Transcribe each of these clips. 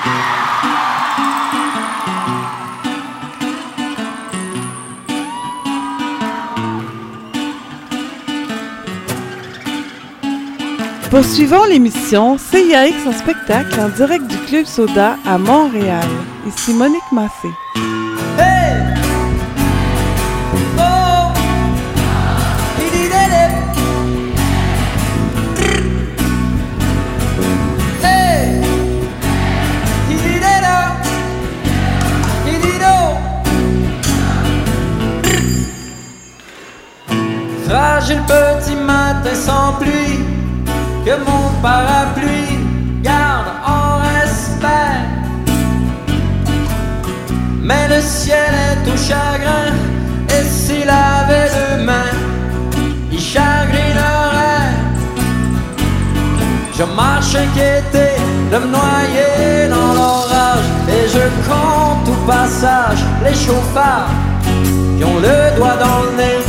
Poursuivons l'émission CIAX en spectacle en direct du Club Soda à Montréal. Ici Monique Massé. Hey! Oh! Hey! Fragile petit matin sans pluie, que mon parapluie garde en respect. Mais le ciel est au chagrin, et s'il avait deux mains, il chagrinerait. Je marche inquiété de me noyer dans l'orage, et je compte au passage les chauffards qui ont le doigt dans le nez.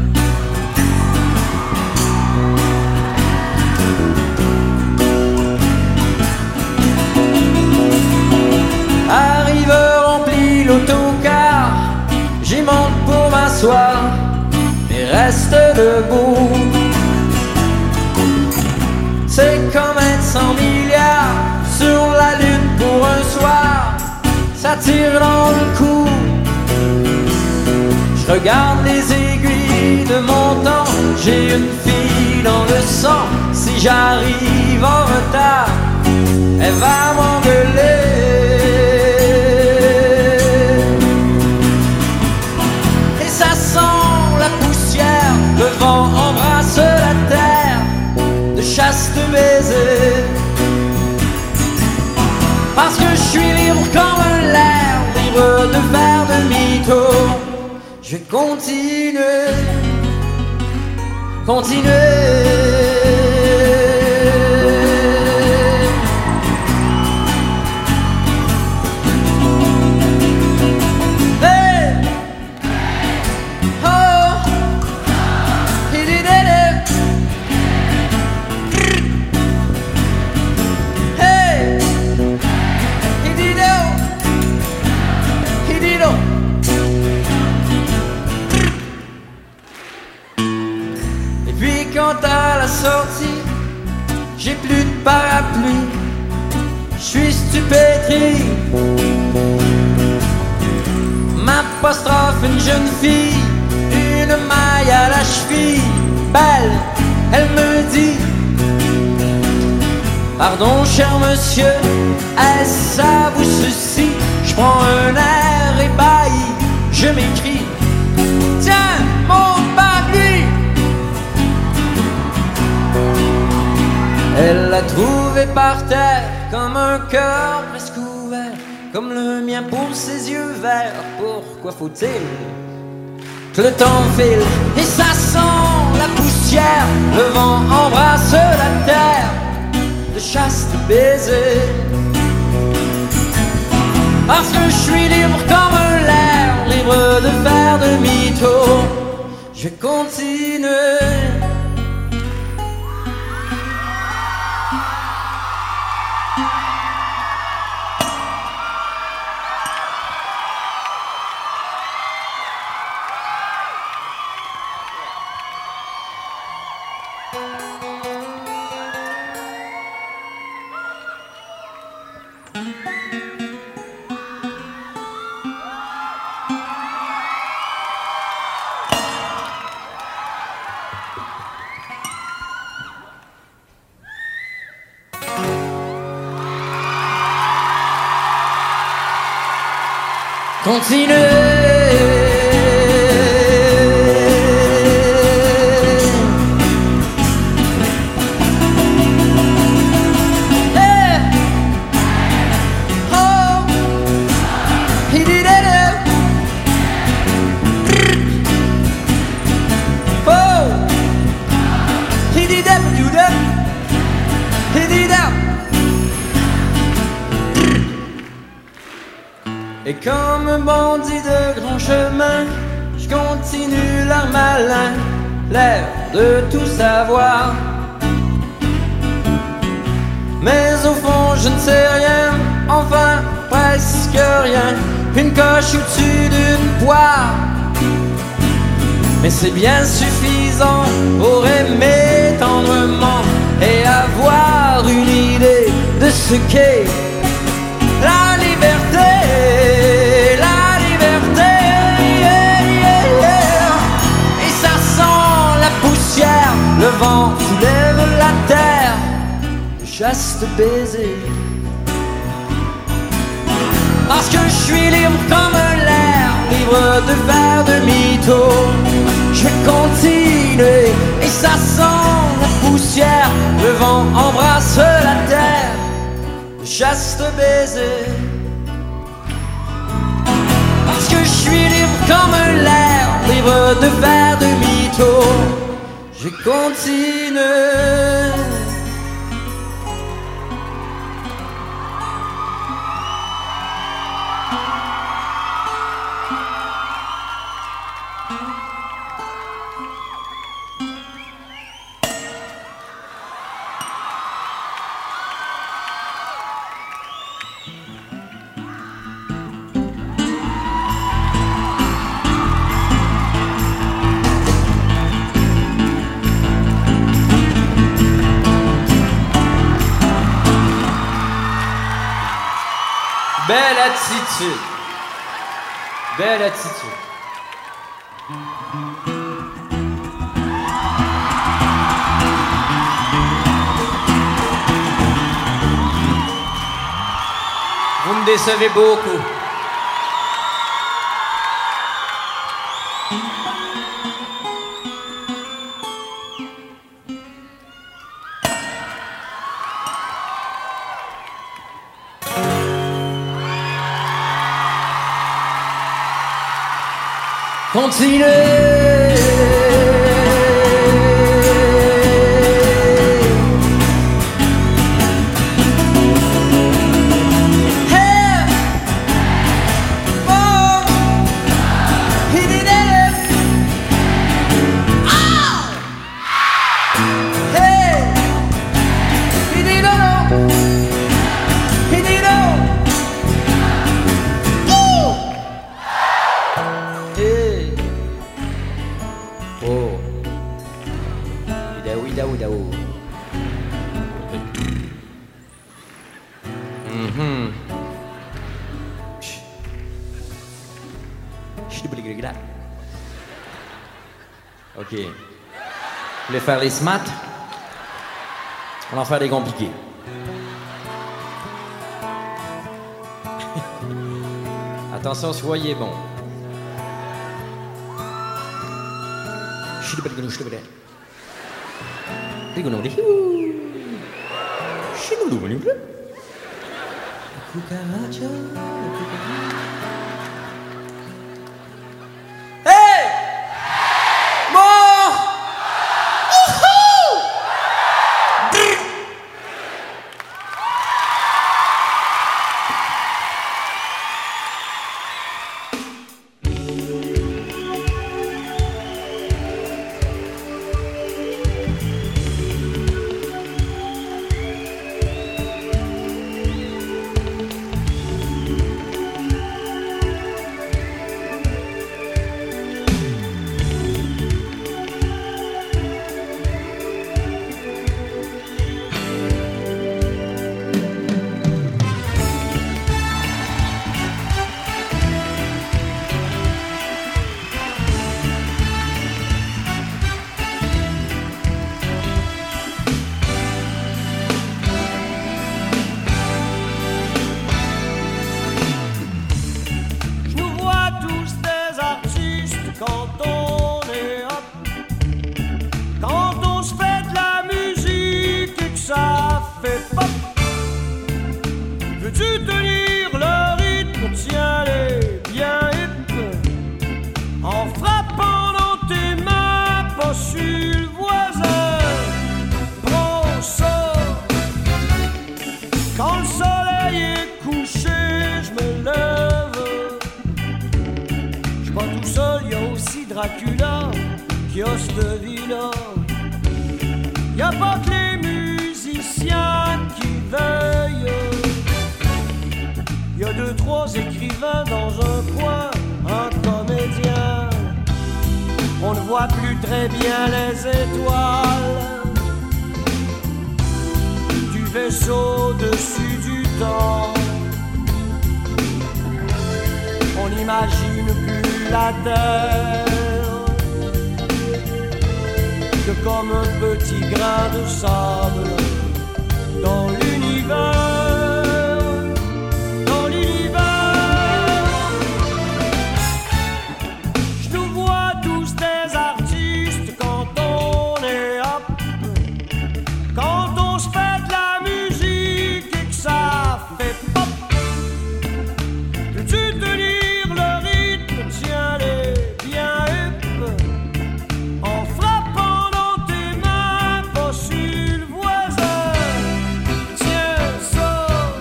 Arrive rempli l'autocar, j'y monte pour m'asseoir, mais reste debout. C'est comme être 100 milliards sur la lune pour un soir, ça tire dans le cou. Je regarde les aiguilles de mon temps, j'ai une fille dans le sang. Si j'arrive en retard, elle va m'engueuler. Le vent embrasse la terre de chastes baisers. Parce que je suis libre comme l'air, libre de faire demi-tour. Je vais continuer, continuer. À la sortie, j'ai plus de parapluie, je suis stupétri. M'apostrophe une jeune fille, une maille à la cheville, belle, elle me dit: pardon cher monsieur, est-ce ça vous soucie? Je prends un air ébahi, je m'écris: tiens mon parapluie. Elle l'a trouvé par terre, comme un cœur presque ouvert, comme le mien pour ses yeux verts. Pourquoi faut-il que le temps file? Et ça sent la poussière, le vent embrasse la terre de chastes baisers. Parce que je suis libre comme l'air, libre de faire demi-tour. Je vais continuer. Continuez. Et comme un bandit de grand chemin, je continue l'air malin, l'air de tout savoir. Mais au fond je ne sais rien, enfin une coche au-dessus d'une poire. Mais c'est bien suffisant pour aimer tendrement et avoir une idée de ce qu'est la liberté. La liberté, yeah, yeah, yeah. Et ça sent la poussière, le vent soulève la terre, le chaste baiser. Parce que je suis libre comme l'air, libre de faire demi-tour. Je vais continuer et ça sent la poussière, le vent embrasse la terre, le chaste baiser. Parce que je suis libre comme l'air, libre de faire demi-tour. Je continue. Belle attitude. Belle attitude. Vous me décevez beaucoup. Continuez. Ok. Vous voulez faire les smats? On va en faire des compliqués. Attention, soyez bons. Dracula, kiosque de villa. Y a pas que les musiciens qui veillent. y a 2-3 écrivains dans un coin, un comédien. On ne voit plus très bien les étoiles du vaisseau au-dessus du temps. On n'imagine plus la terre que comme un petit grain de sable dans l'univers, dans l'univers. Je nous vois tous des artistes quand on est up, quand on se fait de la musique et que ça fait pop. Peux-tu tenir le rythme, tiens-les bien up, en frappant dans tes mains, pas sur le voisin. Tiens ça.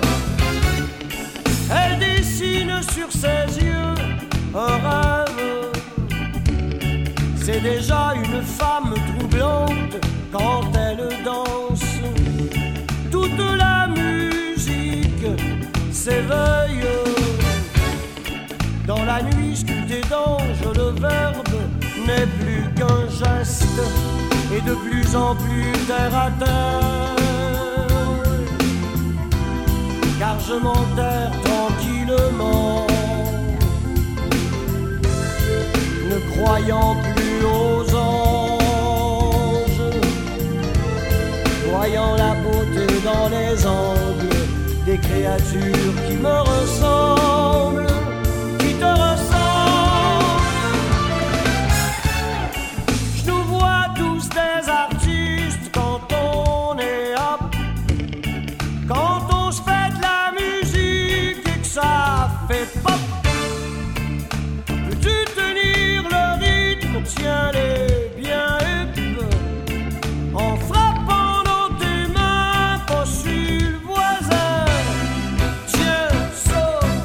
Elle dessine sur ses yeux un rêve. C'est déjà une femme troublante quand elle danse. Toute la musique s'éveille. Dans la nuit sculptée d'ange, le verbe n'est plus qu'un geste et de plus en plus terre à terre. Car je m'enterre tranquillement, ne croyant plus aux anges, voyant la beauté dans les angles des créatures qui me ressemblent, qui te ressemblent. Je nous vois tous des artistes quand on est up, quand on se fait de la musique et que ça fait pop. Peux-tu tenir le rythme, tiens-les bien up, en frappant dans tes mains, pas sur le voisin. Tiens ça.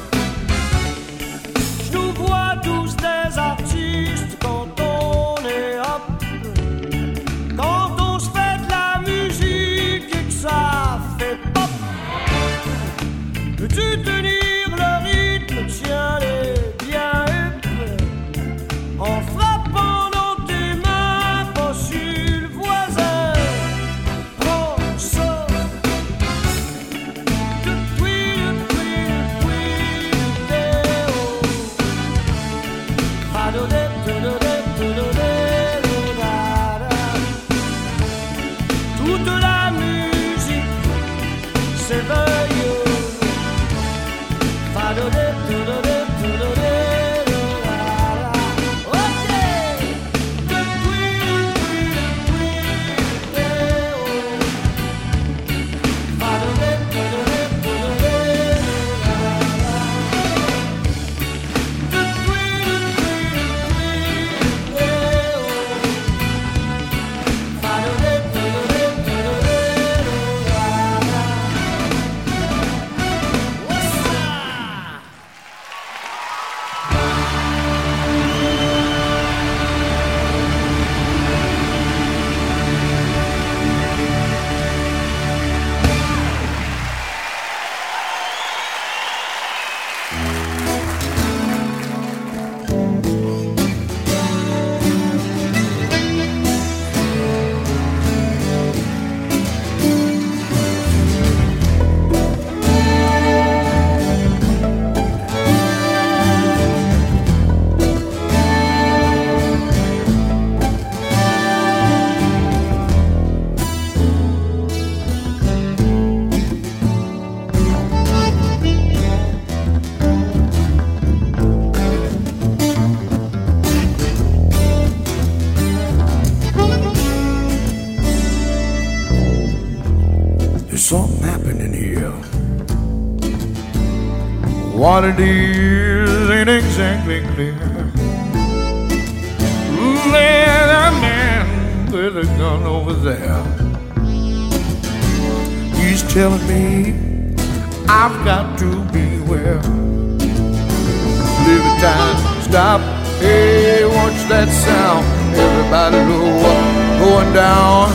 Je nous vois tous des artistes quand on est up, quand on se fait de la musique et que ça fait pop. Peux-tu tenir le rythme, tiens-les bien up, en frappant dans tes mains, pas sur le voisin. Prends ça. Toute la musique s'éveille. There's something happening here. What it is ain't exactly clear. There's a man with a gun over there. He's telling me I've got to beware. Live time, stop, hey, watch that sound. Everybody look up, going down.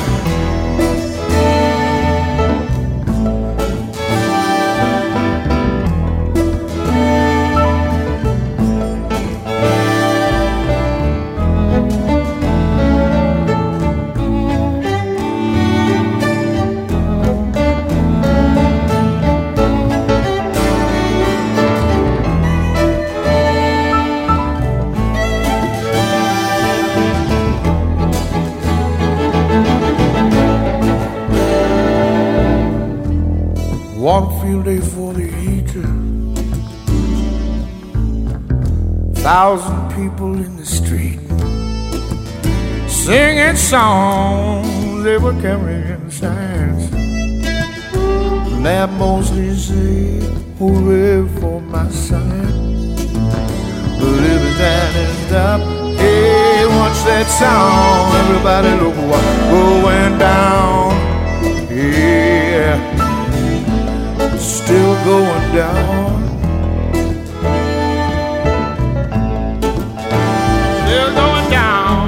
1,000 people in the street singing songs, they were carrying signs that mostly say, hooray for my son. But every time it stop, hey, watch that sound. Everybody look what's going down. Yeah, still going down. Still going down.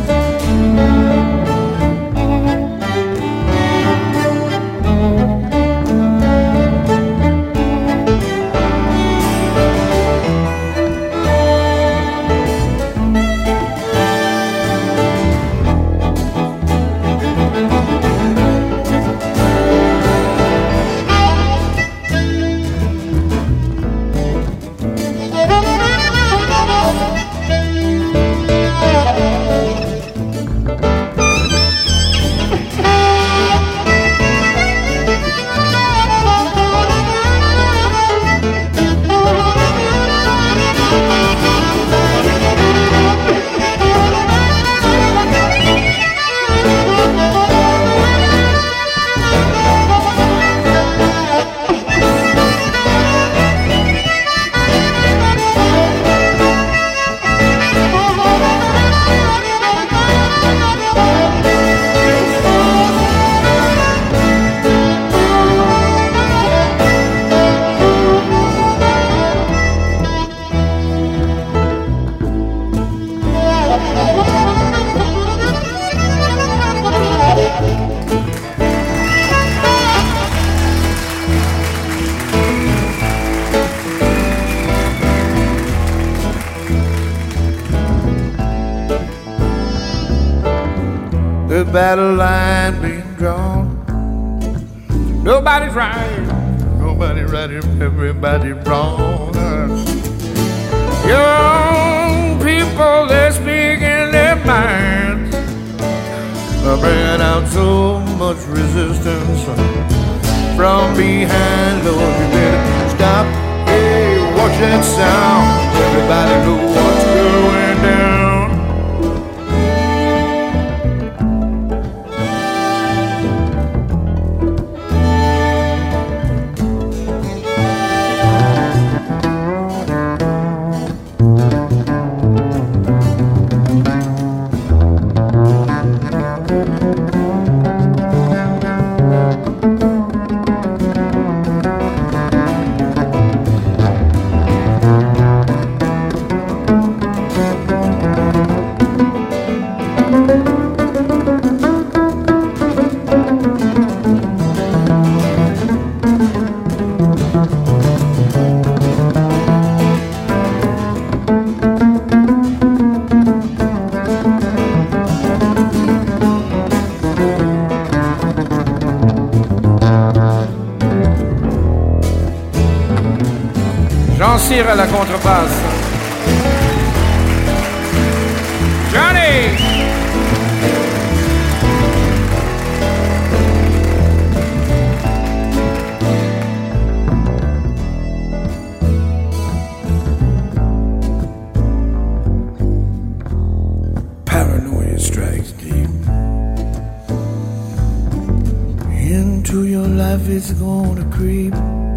The battle line being drawn. Nobody's right, nobody right, everybody wrong. Young people, they're speaking their minds, bringing out so much resistance from behind. Lord, you better stop. Hey, watch that sound. Everybody know what's going down. Jean Cyr à la contrebasse. Johnny! Paranoia strikes deep into your life, it's gonna creep.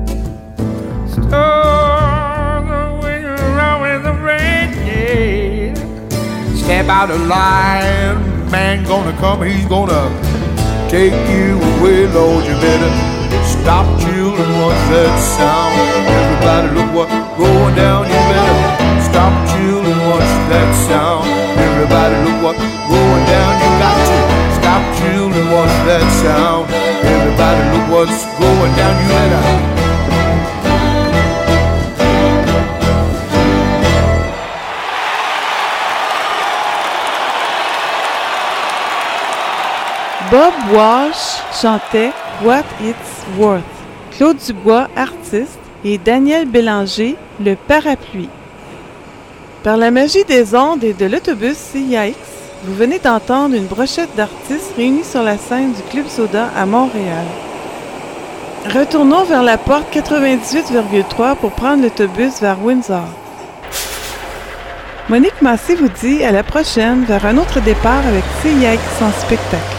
Step out of line, man gonna come, he's gonna take you away, Lord. You better stop, children, watch that sound. Everybody look what's going down. You better stop, children, watch that sound. Everybody look what's going down. You got to stop, children, watch that sound. Everybody look what's going down. You better. Bob Walsh chantait What It's Worth, Claude Dubois, artiste, et Daniel Bélanger, le parapluie. Par la magie des ondes et de l'autobus CIX, vous venez d'entendre une brochette d'artistes réunis sur la scène du Club Soda à Montréal. Retournons vers la porte 98,3 pour prendre l'autobus vers Windsor. Monique Massé vous dit à la prochaine vers un autre départ avec Céliac sans spectacle.